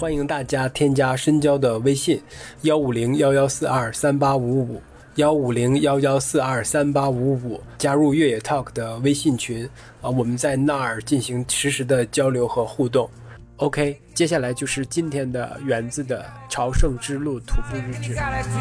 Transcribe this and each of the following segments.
欢迎大家添加深交的微信15011423855，15011423855，加入越野 Talk 的微信群我们在那儿进行实时的交流和互动。OK， 接下来就是今天的园子的朝圣之路徒步日志。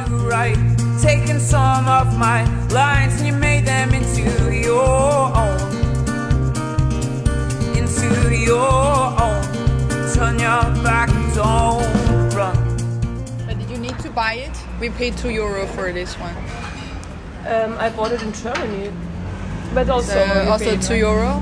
But did you need to buy it? We paid €2 for this one. I bought it in Germany, but also €2.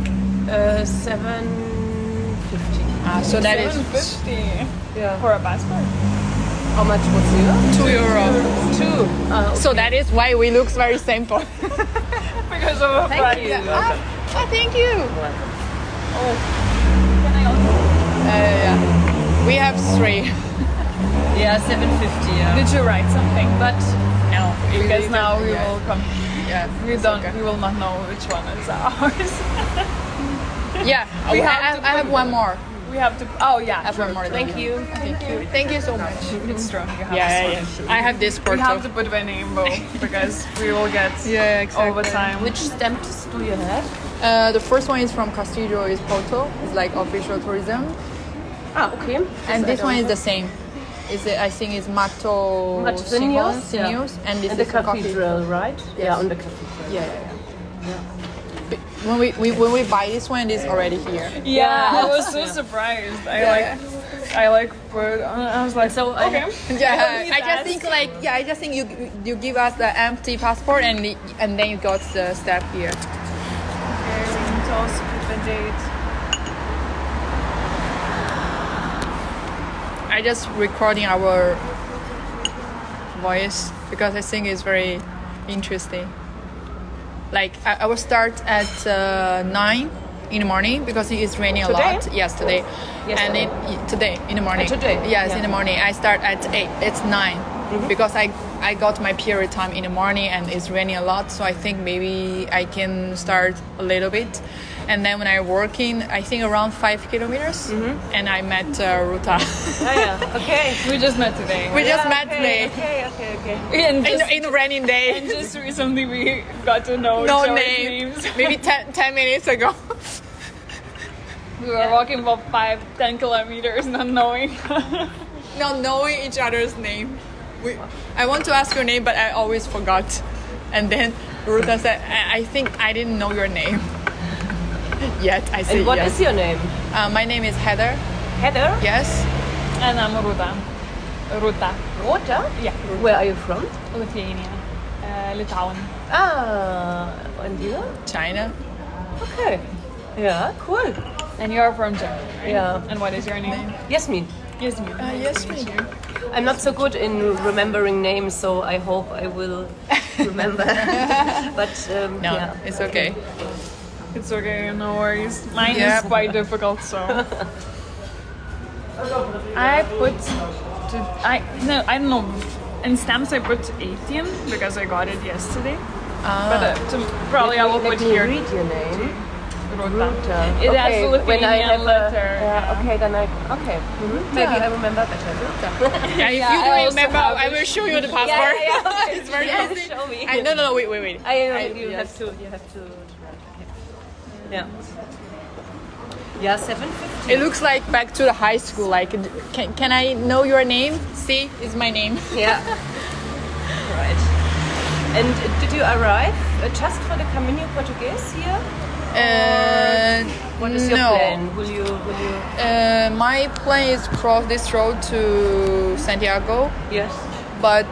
$7.50. So that is $7.50 Yeah. for a passport. How much was it? €2. Two. Okay. So that is why we look very simple. Because of a Thank price. you. Thank you. Oh, can I also? Yeah. We have 3. Yeah, $7.50. Yeah. Did you write something? But no, Because now we yeah. will come. Yeah, We it's don't. okay. We will not know which one is ours. Yeah, We I have to have one more. We have to. Oh yeah. I have one more. Thank you. Thank you so much. It's true. You have Yeah. I have this We Porto. have to put the name though because we will get Yeah, exactly. all the time. Which stamps do you have? The first one is from Castillo, is Porto. It's like official tourism. Okay. And this one is the same. I think it's Mato Matosinhos, Sinhos, and this And the is a coffee. cathedral, right? Yeah, on the cathedral. Yeah. When we buy this one, it's already here. Yeah, I was so surprised. I put. I was like, So okay. Yeah, I just think you give us the empty passport and then you got the stamp here. Okay, we need to also put the date. I just recording our voice because I think it's very interesting. Like I will start at 9 in the morning because it is raining Today? a lot. Yes, today. Yesterday. And today in the morning. Today? Yes, Yeah. in the morning. I start at 8. It's 9 because I got my period time in the morning and it's raining a lot. So I think maybe I can start a little bit. And then when I'm working, I think around 5 kilometers. And I met Ruta. Oh, yeah. Okay. We just met today. We just met okay, today. Okay. And just, In a raining day. and just recently we got to know No each other's name. names. Maybe 10 minutes ago. We were walking about 5-10 kilometers, not knowing. Not knowing each other's name. I want to ask your name, but I always forgot. And then Ruta said, I think I didn't know your name. Yet I say And what yes. is your name? My name is Heather. Heather? Yes. And I'm Ruta. Ruta. Rota? Yeah. Where are you from? Lithuania. Litauen. And you? China. Okay. Yeah, cool. And you're from Germany, right? Yeah. And what is your name? Yasmin. Yasmin. Yes, me. I'm not so good in remembering names, so I hope I will remember. But No, yeah. it's okay. It's okay, no worries. Mine Yeah. is quite difficult, so. I don't know. In stamps I put 18 because I got it yesterday. But probably I will Let put me here read your name. Ruta. It has the when I have Lithuanian letter. okay, then maybe I remember better. Yeah, if Yeah, you I don't also remember, have I will show you the passport. Okay. It's very Yeah, easy. show me. No, wait. You have to. Yeah. Yeah, 7:50. It looks like back to the high school. Like, can I know your name? See, is my name. Yeah. Right. And did you arrive just for the Caminho Português here? What is your no. plan? Will you? My plan is cross this road to Santiago, Yes. but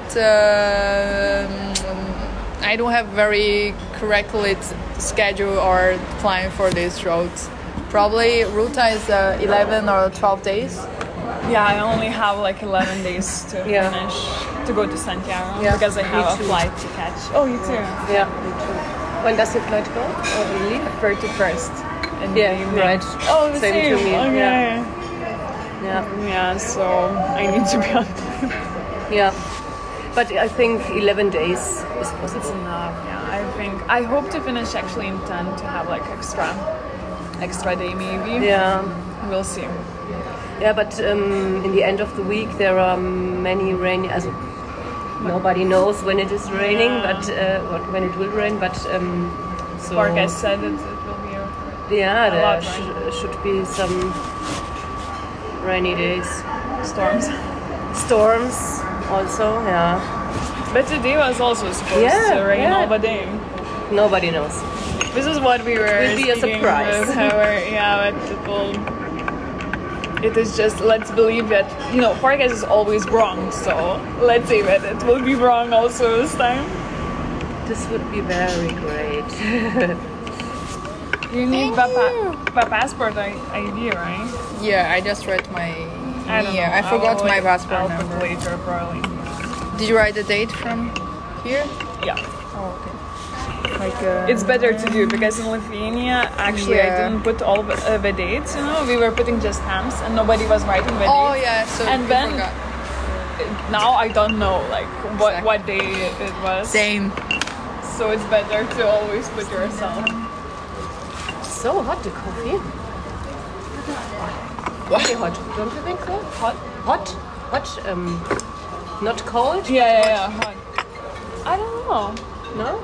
I don't have very correctly schedule or plan for this road. Probably Ruta is 11 or 12 days. Yeah, I only have like 11 days to Yeah. finish to go to Santiago Yeah. because I have a too. flight to catch. Oh, you too. Yeah. Me too. When does your flight go? Or the leave? 31st. In the Yeah. evening. Right. Oh, the Same same. to me. Okay. Yeah. Yeah, so I need to be on time. Yeah. But I think 11 days is It's possible. enough. Yeah, I hope to finish actually in 10 to have like extra day maybe. Yeah. We'll see. Yeah, but in the end of the week there are many rainy. Nobody knows when it is raining, but when it will rain. But so Forecast said it will be. Yeah, there lot, should be some rainy days, storms also. Yeah. But today was also supposed to rain all the day. Nobody knows. This is what we were. Will be a surprise. It is just, let's believe that, forecast is always wrong, so let's say that it will be wrong also this time. This would be very great. You need the passport ID, right? Yeah, I just read my... I forgot my passport number. Later, probably. Did you write the date from here? Yeah. Oh, okay. It's better to do because in Lithuania, actually, I didn't put all the dates. We were putting just stamps, and nobody was writing the dates. Oh yeah, so and then forgot. Now I don't know what day it was. Same. So it's better to always put yourself. So hot, the coffee. Very hot. Don't you think so? Hot. Not cold. Yeah. Hot. I don't know. No.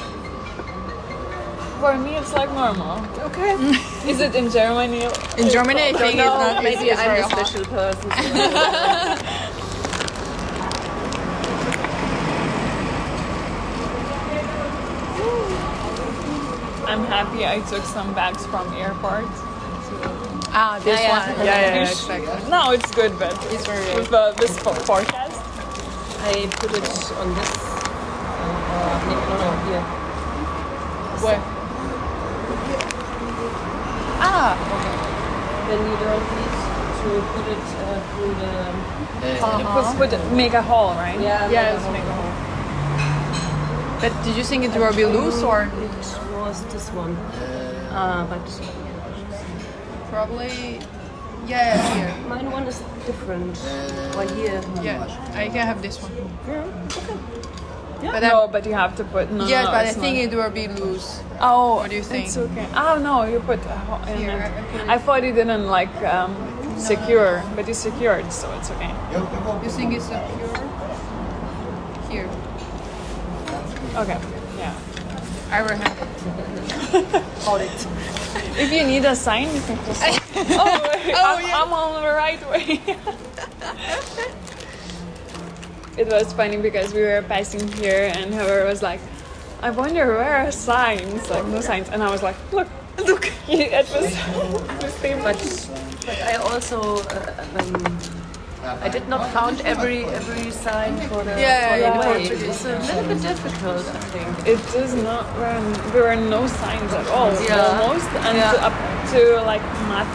For me, it's like normal. Okay. Is it in Germany? In Germany, I think it's not. Maybe it's I'm very a hot. special person. I'm happy I took some bags from airport. This one. Yeah, exactly. No, it's good, but It's very with this forecast. I put it on this. No, here. Where? Okay. Then you don't need to put it through the. Make a hole, right? Yeah. Yes, make a hole. But did you think it will be loose or? It was this one. But Probably. Yeah, here. mine one is different. Why here? Yeah, I can have this one. Yeah. But No, but you have to put. No, Yes, no, but I it's think not. it will be loose. Oh, What do you think? It's okay. Oh no, you put a hole in Here, it. I put it- I thought you didn't secure, but you secured, so it's okay. You think it's secure? Here. Okay. Yeah. I will have it. Hold it. If you need a sign, you can just. I'm on the right way. It was funny because we were passing here and whoever was like, I wonder where are signs? Like no signs. And I was like, look. It was the same. But I also I did not count every sign for the way. It's a little bit difficult, I think. It is not. There were no signs at all. Yeah. Almost. And up to like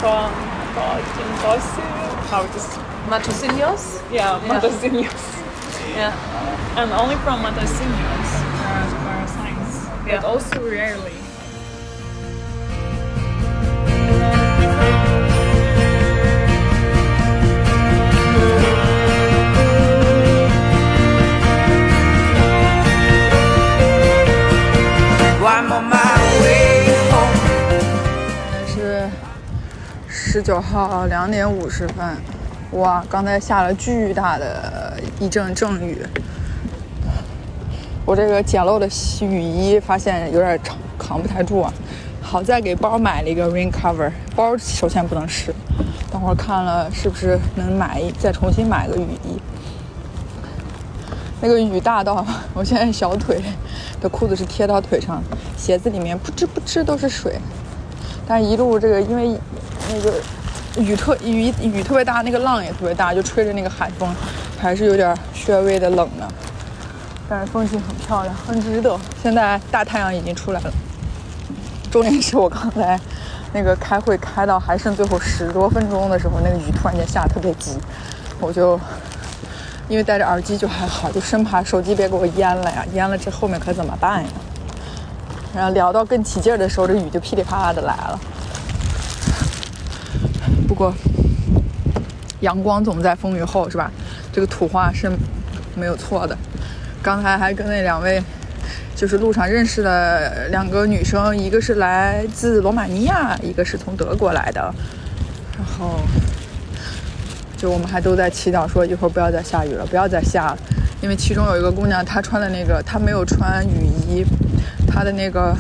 how it is. Matosinhos? Yeah, Matosinhos. Yeah. And only from Matosinhos there are signs. But also rarely. I'm on my way home. 是19号2点50分，哇！刚才下了巨大的一阵阵雨，我这个简陋的雨衣发现有点扛不太住啊。好在给包买了一个 rain cover， 包首先不能湿，等会儿看了是不是能再重新买个雨衣。那个雨大到我现在小腿的裤子是贴到腿上，鞋子里面不吱都是水。但一路这个因为那个雨特别大，那个浪也特别大，就吹着那个海风，还是有点略微的冷的。但是风景很漂亮，很值得。现在大太阳已经出来了。重点是我刚才那个开会开到还剩最后10多分钟的时候，那个雨突然间下得特别急，我就因为戴着耳机就还好，就生怕手机别给我淹了呀，淹了这后面可怎么办呀？然后聊到更起劲儿的时候，这雨就噼里啪啦的来了。不过阳光总在风雨后，是吧？这个土话是没有错的。刚才还跟那2位就是路上认识的2个女生，一个是来自罗马尼亚，一个是从德国来的。然后就我们还都在祈祷说一会儿不要再下雨了，不要再下了。因为其中有一个姑娘，她穿的那个，她没有穿雨衣，她的那个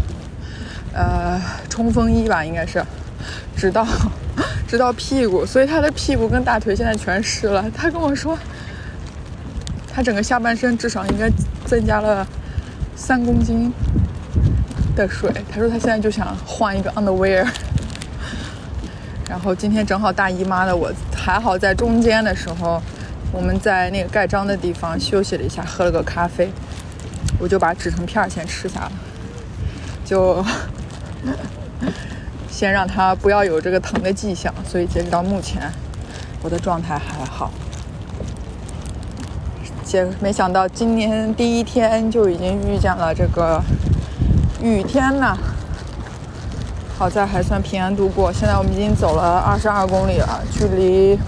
冲锋衣吧，应该是直到屁股，所以她的屁股跟大腿现在全湿了。她跟我说，她整个下半身至少应该增加了3公斤的水。她说她现在就想换一个 underwear。然后今天正好大姨妈的，我还好在中间的时候，我们在那个盖章的地方休息了一下，喝了个咖啡，我就把止疼片先吃下了，就先让它不要有这个疼的迹象。所以截止到目前我的状态还好。没想到今年第一天就已经遇见了这个雨天呢，好在还算平安度过。现在我们已经走了22公里了，距离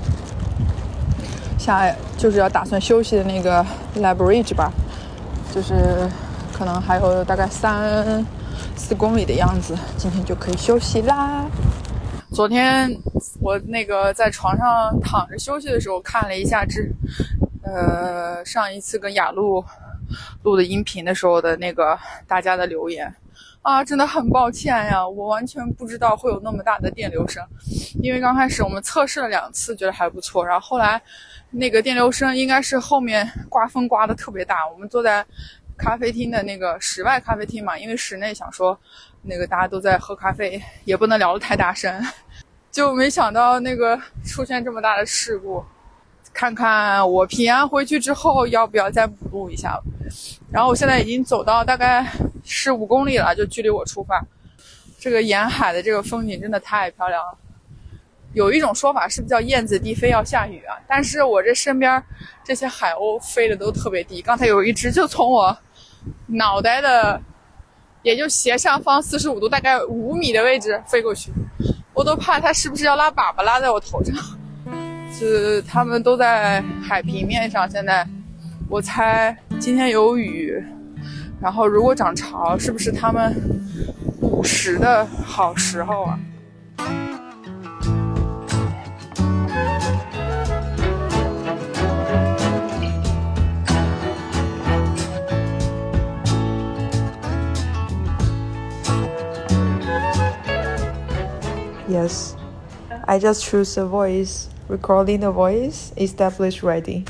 就是要打算休息的那个 Labridge 吧，就是可能还有大概3-4公里的样子，今天就可以休息啦。昨天我那个在床上躺着休息的时候，看了一下上一次跟雅露录的音频的时候的那个大家的留言啊，真的很抱歉呀，我完全不知道会有那么大的电流声。因为刚开始我们测试了2次，觉得还不错，然后后来那个电流声应该是后面刮风刮得特别大。我们坐在咖啡厅的那个室外咖啡厅嘛，因为室内想说那个大家都在喝咖啡，也不能聊得太大声，就没想到那个出现这么大的事故。看看我平安回去之后要不要再补录一下了。然后我现在已经走到大概15公里了，就距离我出发。这个沿海的这个风景真的太漂亮了。有一种说法是不是叫燕子低飞要下雨啊？但是我这身边这些海鸥飞的都特别低，刚才有一只就从我脑袋的也就斜上方45度大概5米的位置飞过去，我都怕它是不是要拉粑粑拉在我头上。他们都在海平面上，现在我猜今天有雨，然后如果涨潮是不是他们捕食的好时候啊？ Yes, I just choose a voice. Recording the voice, established ready.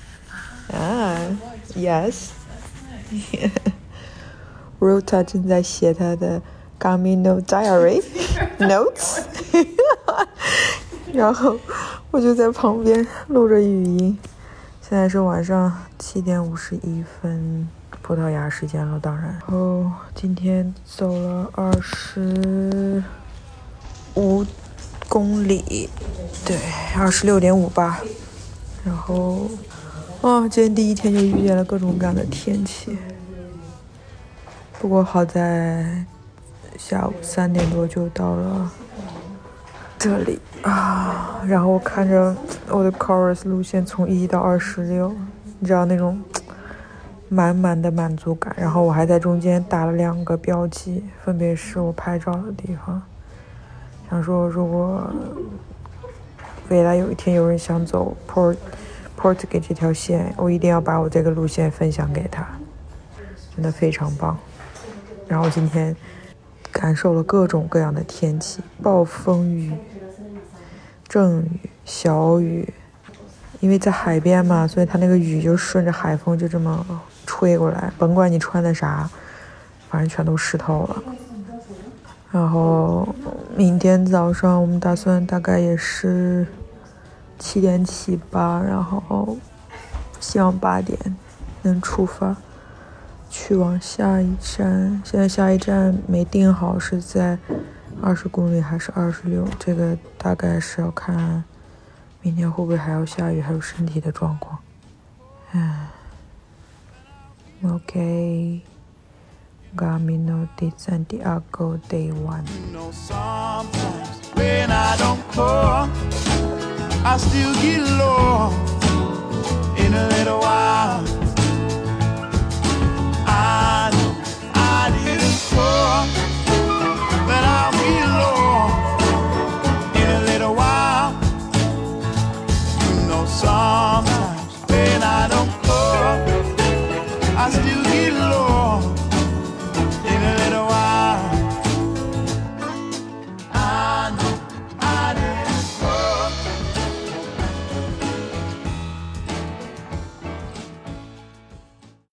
Yes. Ruta 正在写她的 Camino Diary notes 然后我就在旁边录着语音。现在是晚上7点51分，葡萄牙时间了，当然。然后今天走了25公里，对，26.5吧。然后今天第一天就遇见了各种各样的天气，不过好在下午3点多就到了这里啊。然后我看着我的 chorus 路线从1到26，你知道那种满满的满足感。然后我还在中间打了2个标记，分别是我拍照的地方。想说如果未来有一天有人想走 Portugal 这条线，我一定要把我这个路线分享给他，真的非常棒。然后今天感受了各种各样的天气，暴风雨、阵雨、小雨，因为在海边嘛，所以它那个雨就顺着海风就这么吹过来，甭管你穿的啥，反正全都湿透了。然后明天早上我们打算大概也是7点起吧，然后希望8点能出发去往下一站。现在下一站没定好是在20公里还是26，这个大概是要看明天会不会还要下雨，还有身体的状况。OK， Camino de Santiago Day 1。 Sometimes when I don't call, I still get lost in a little while.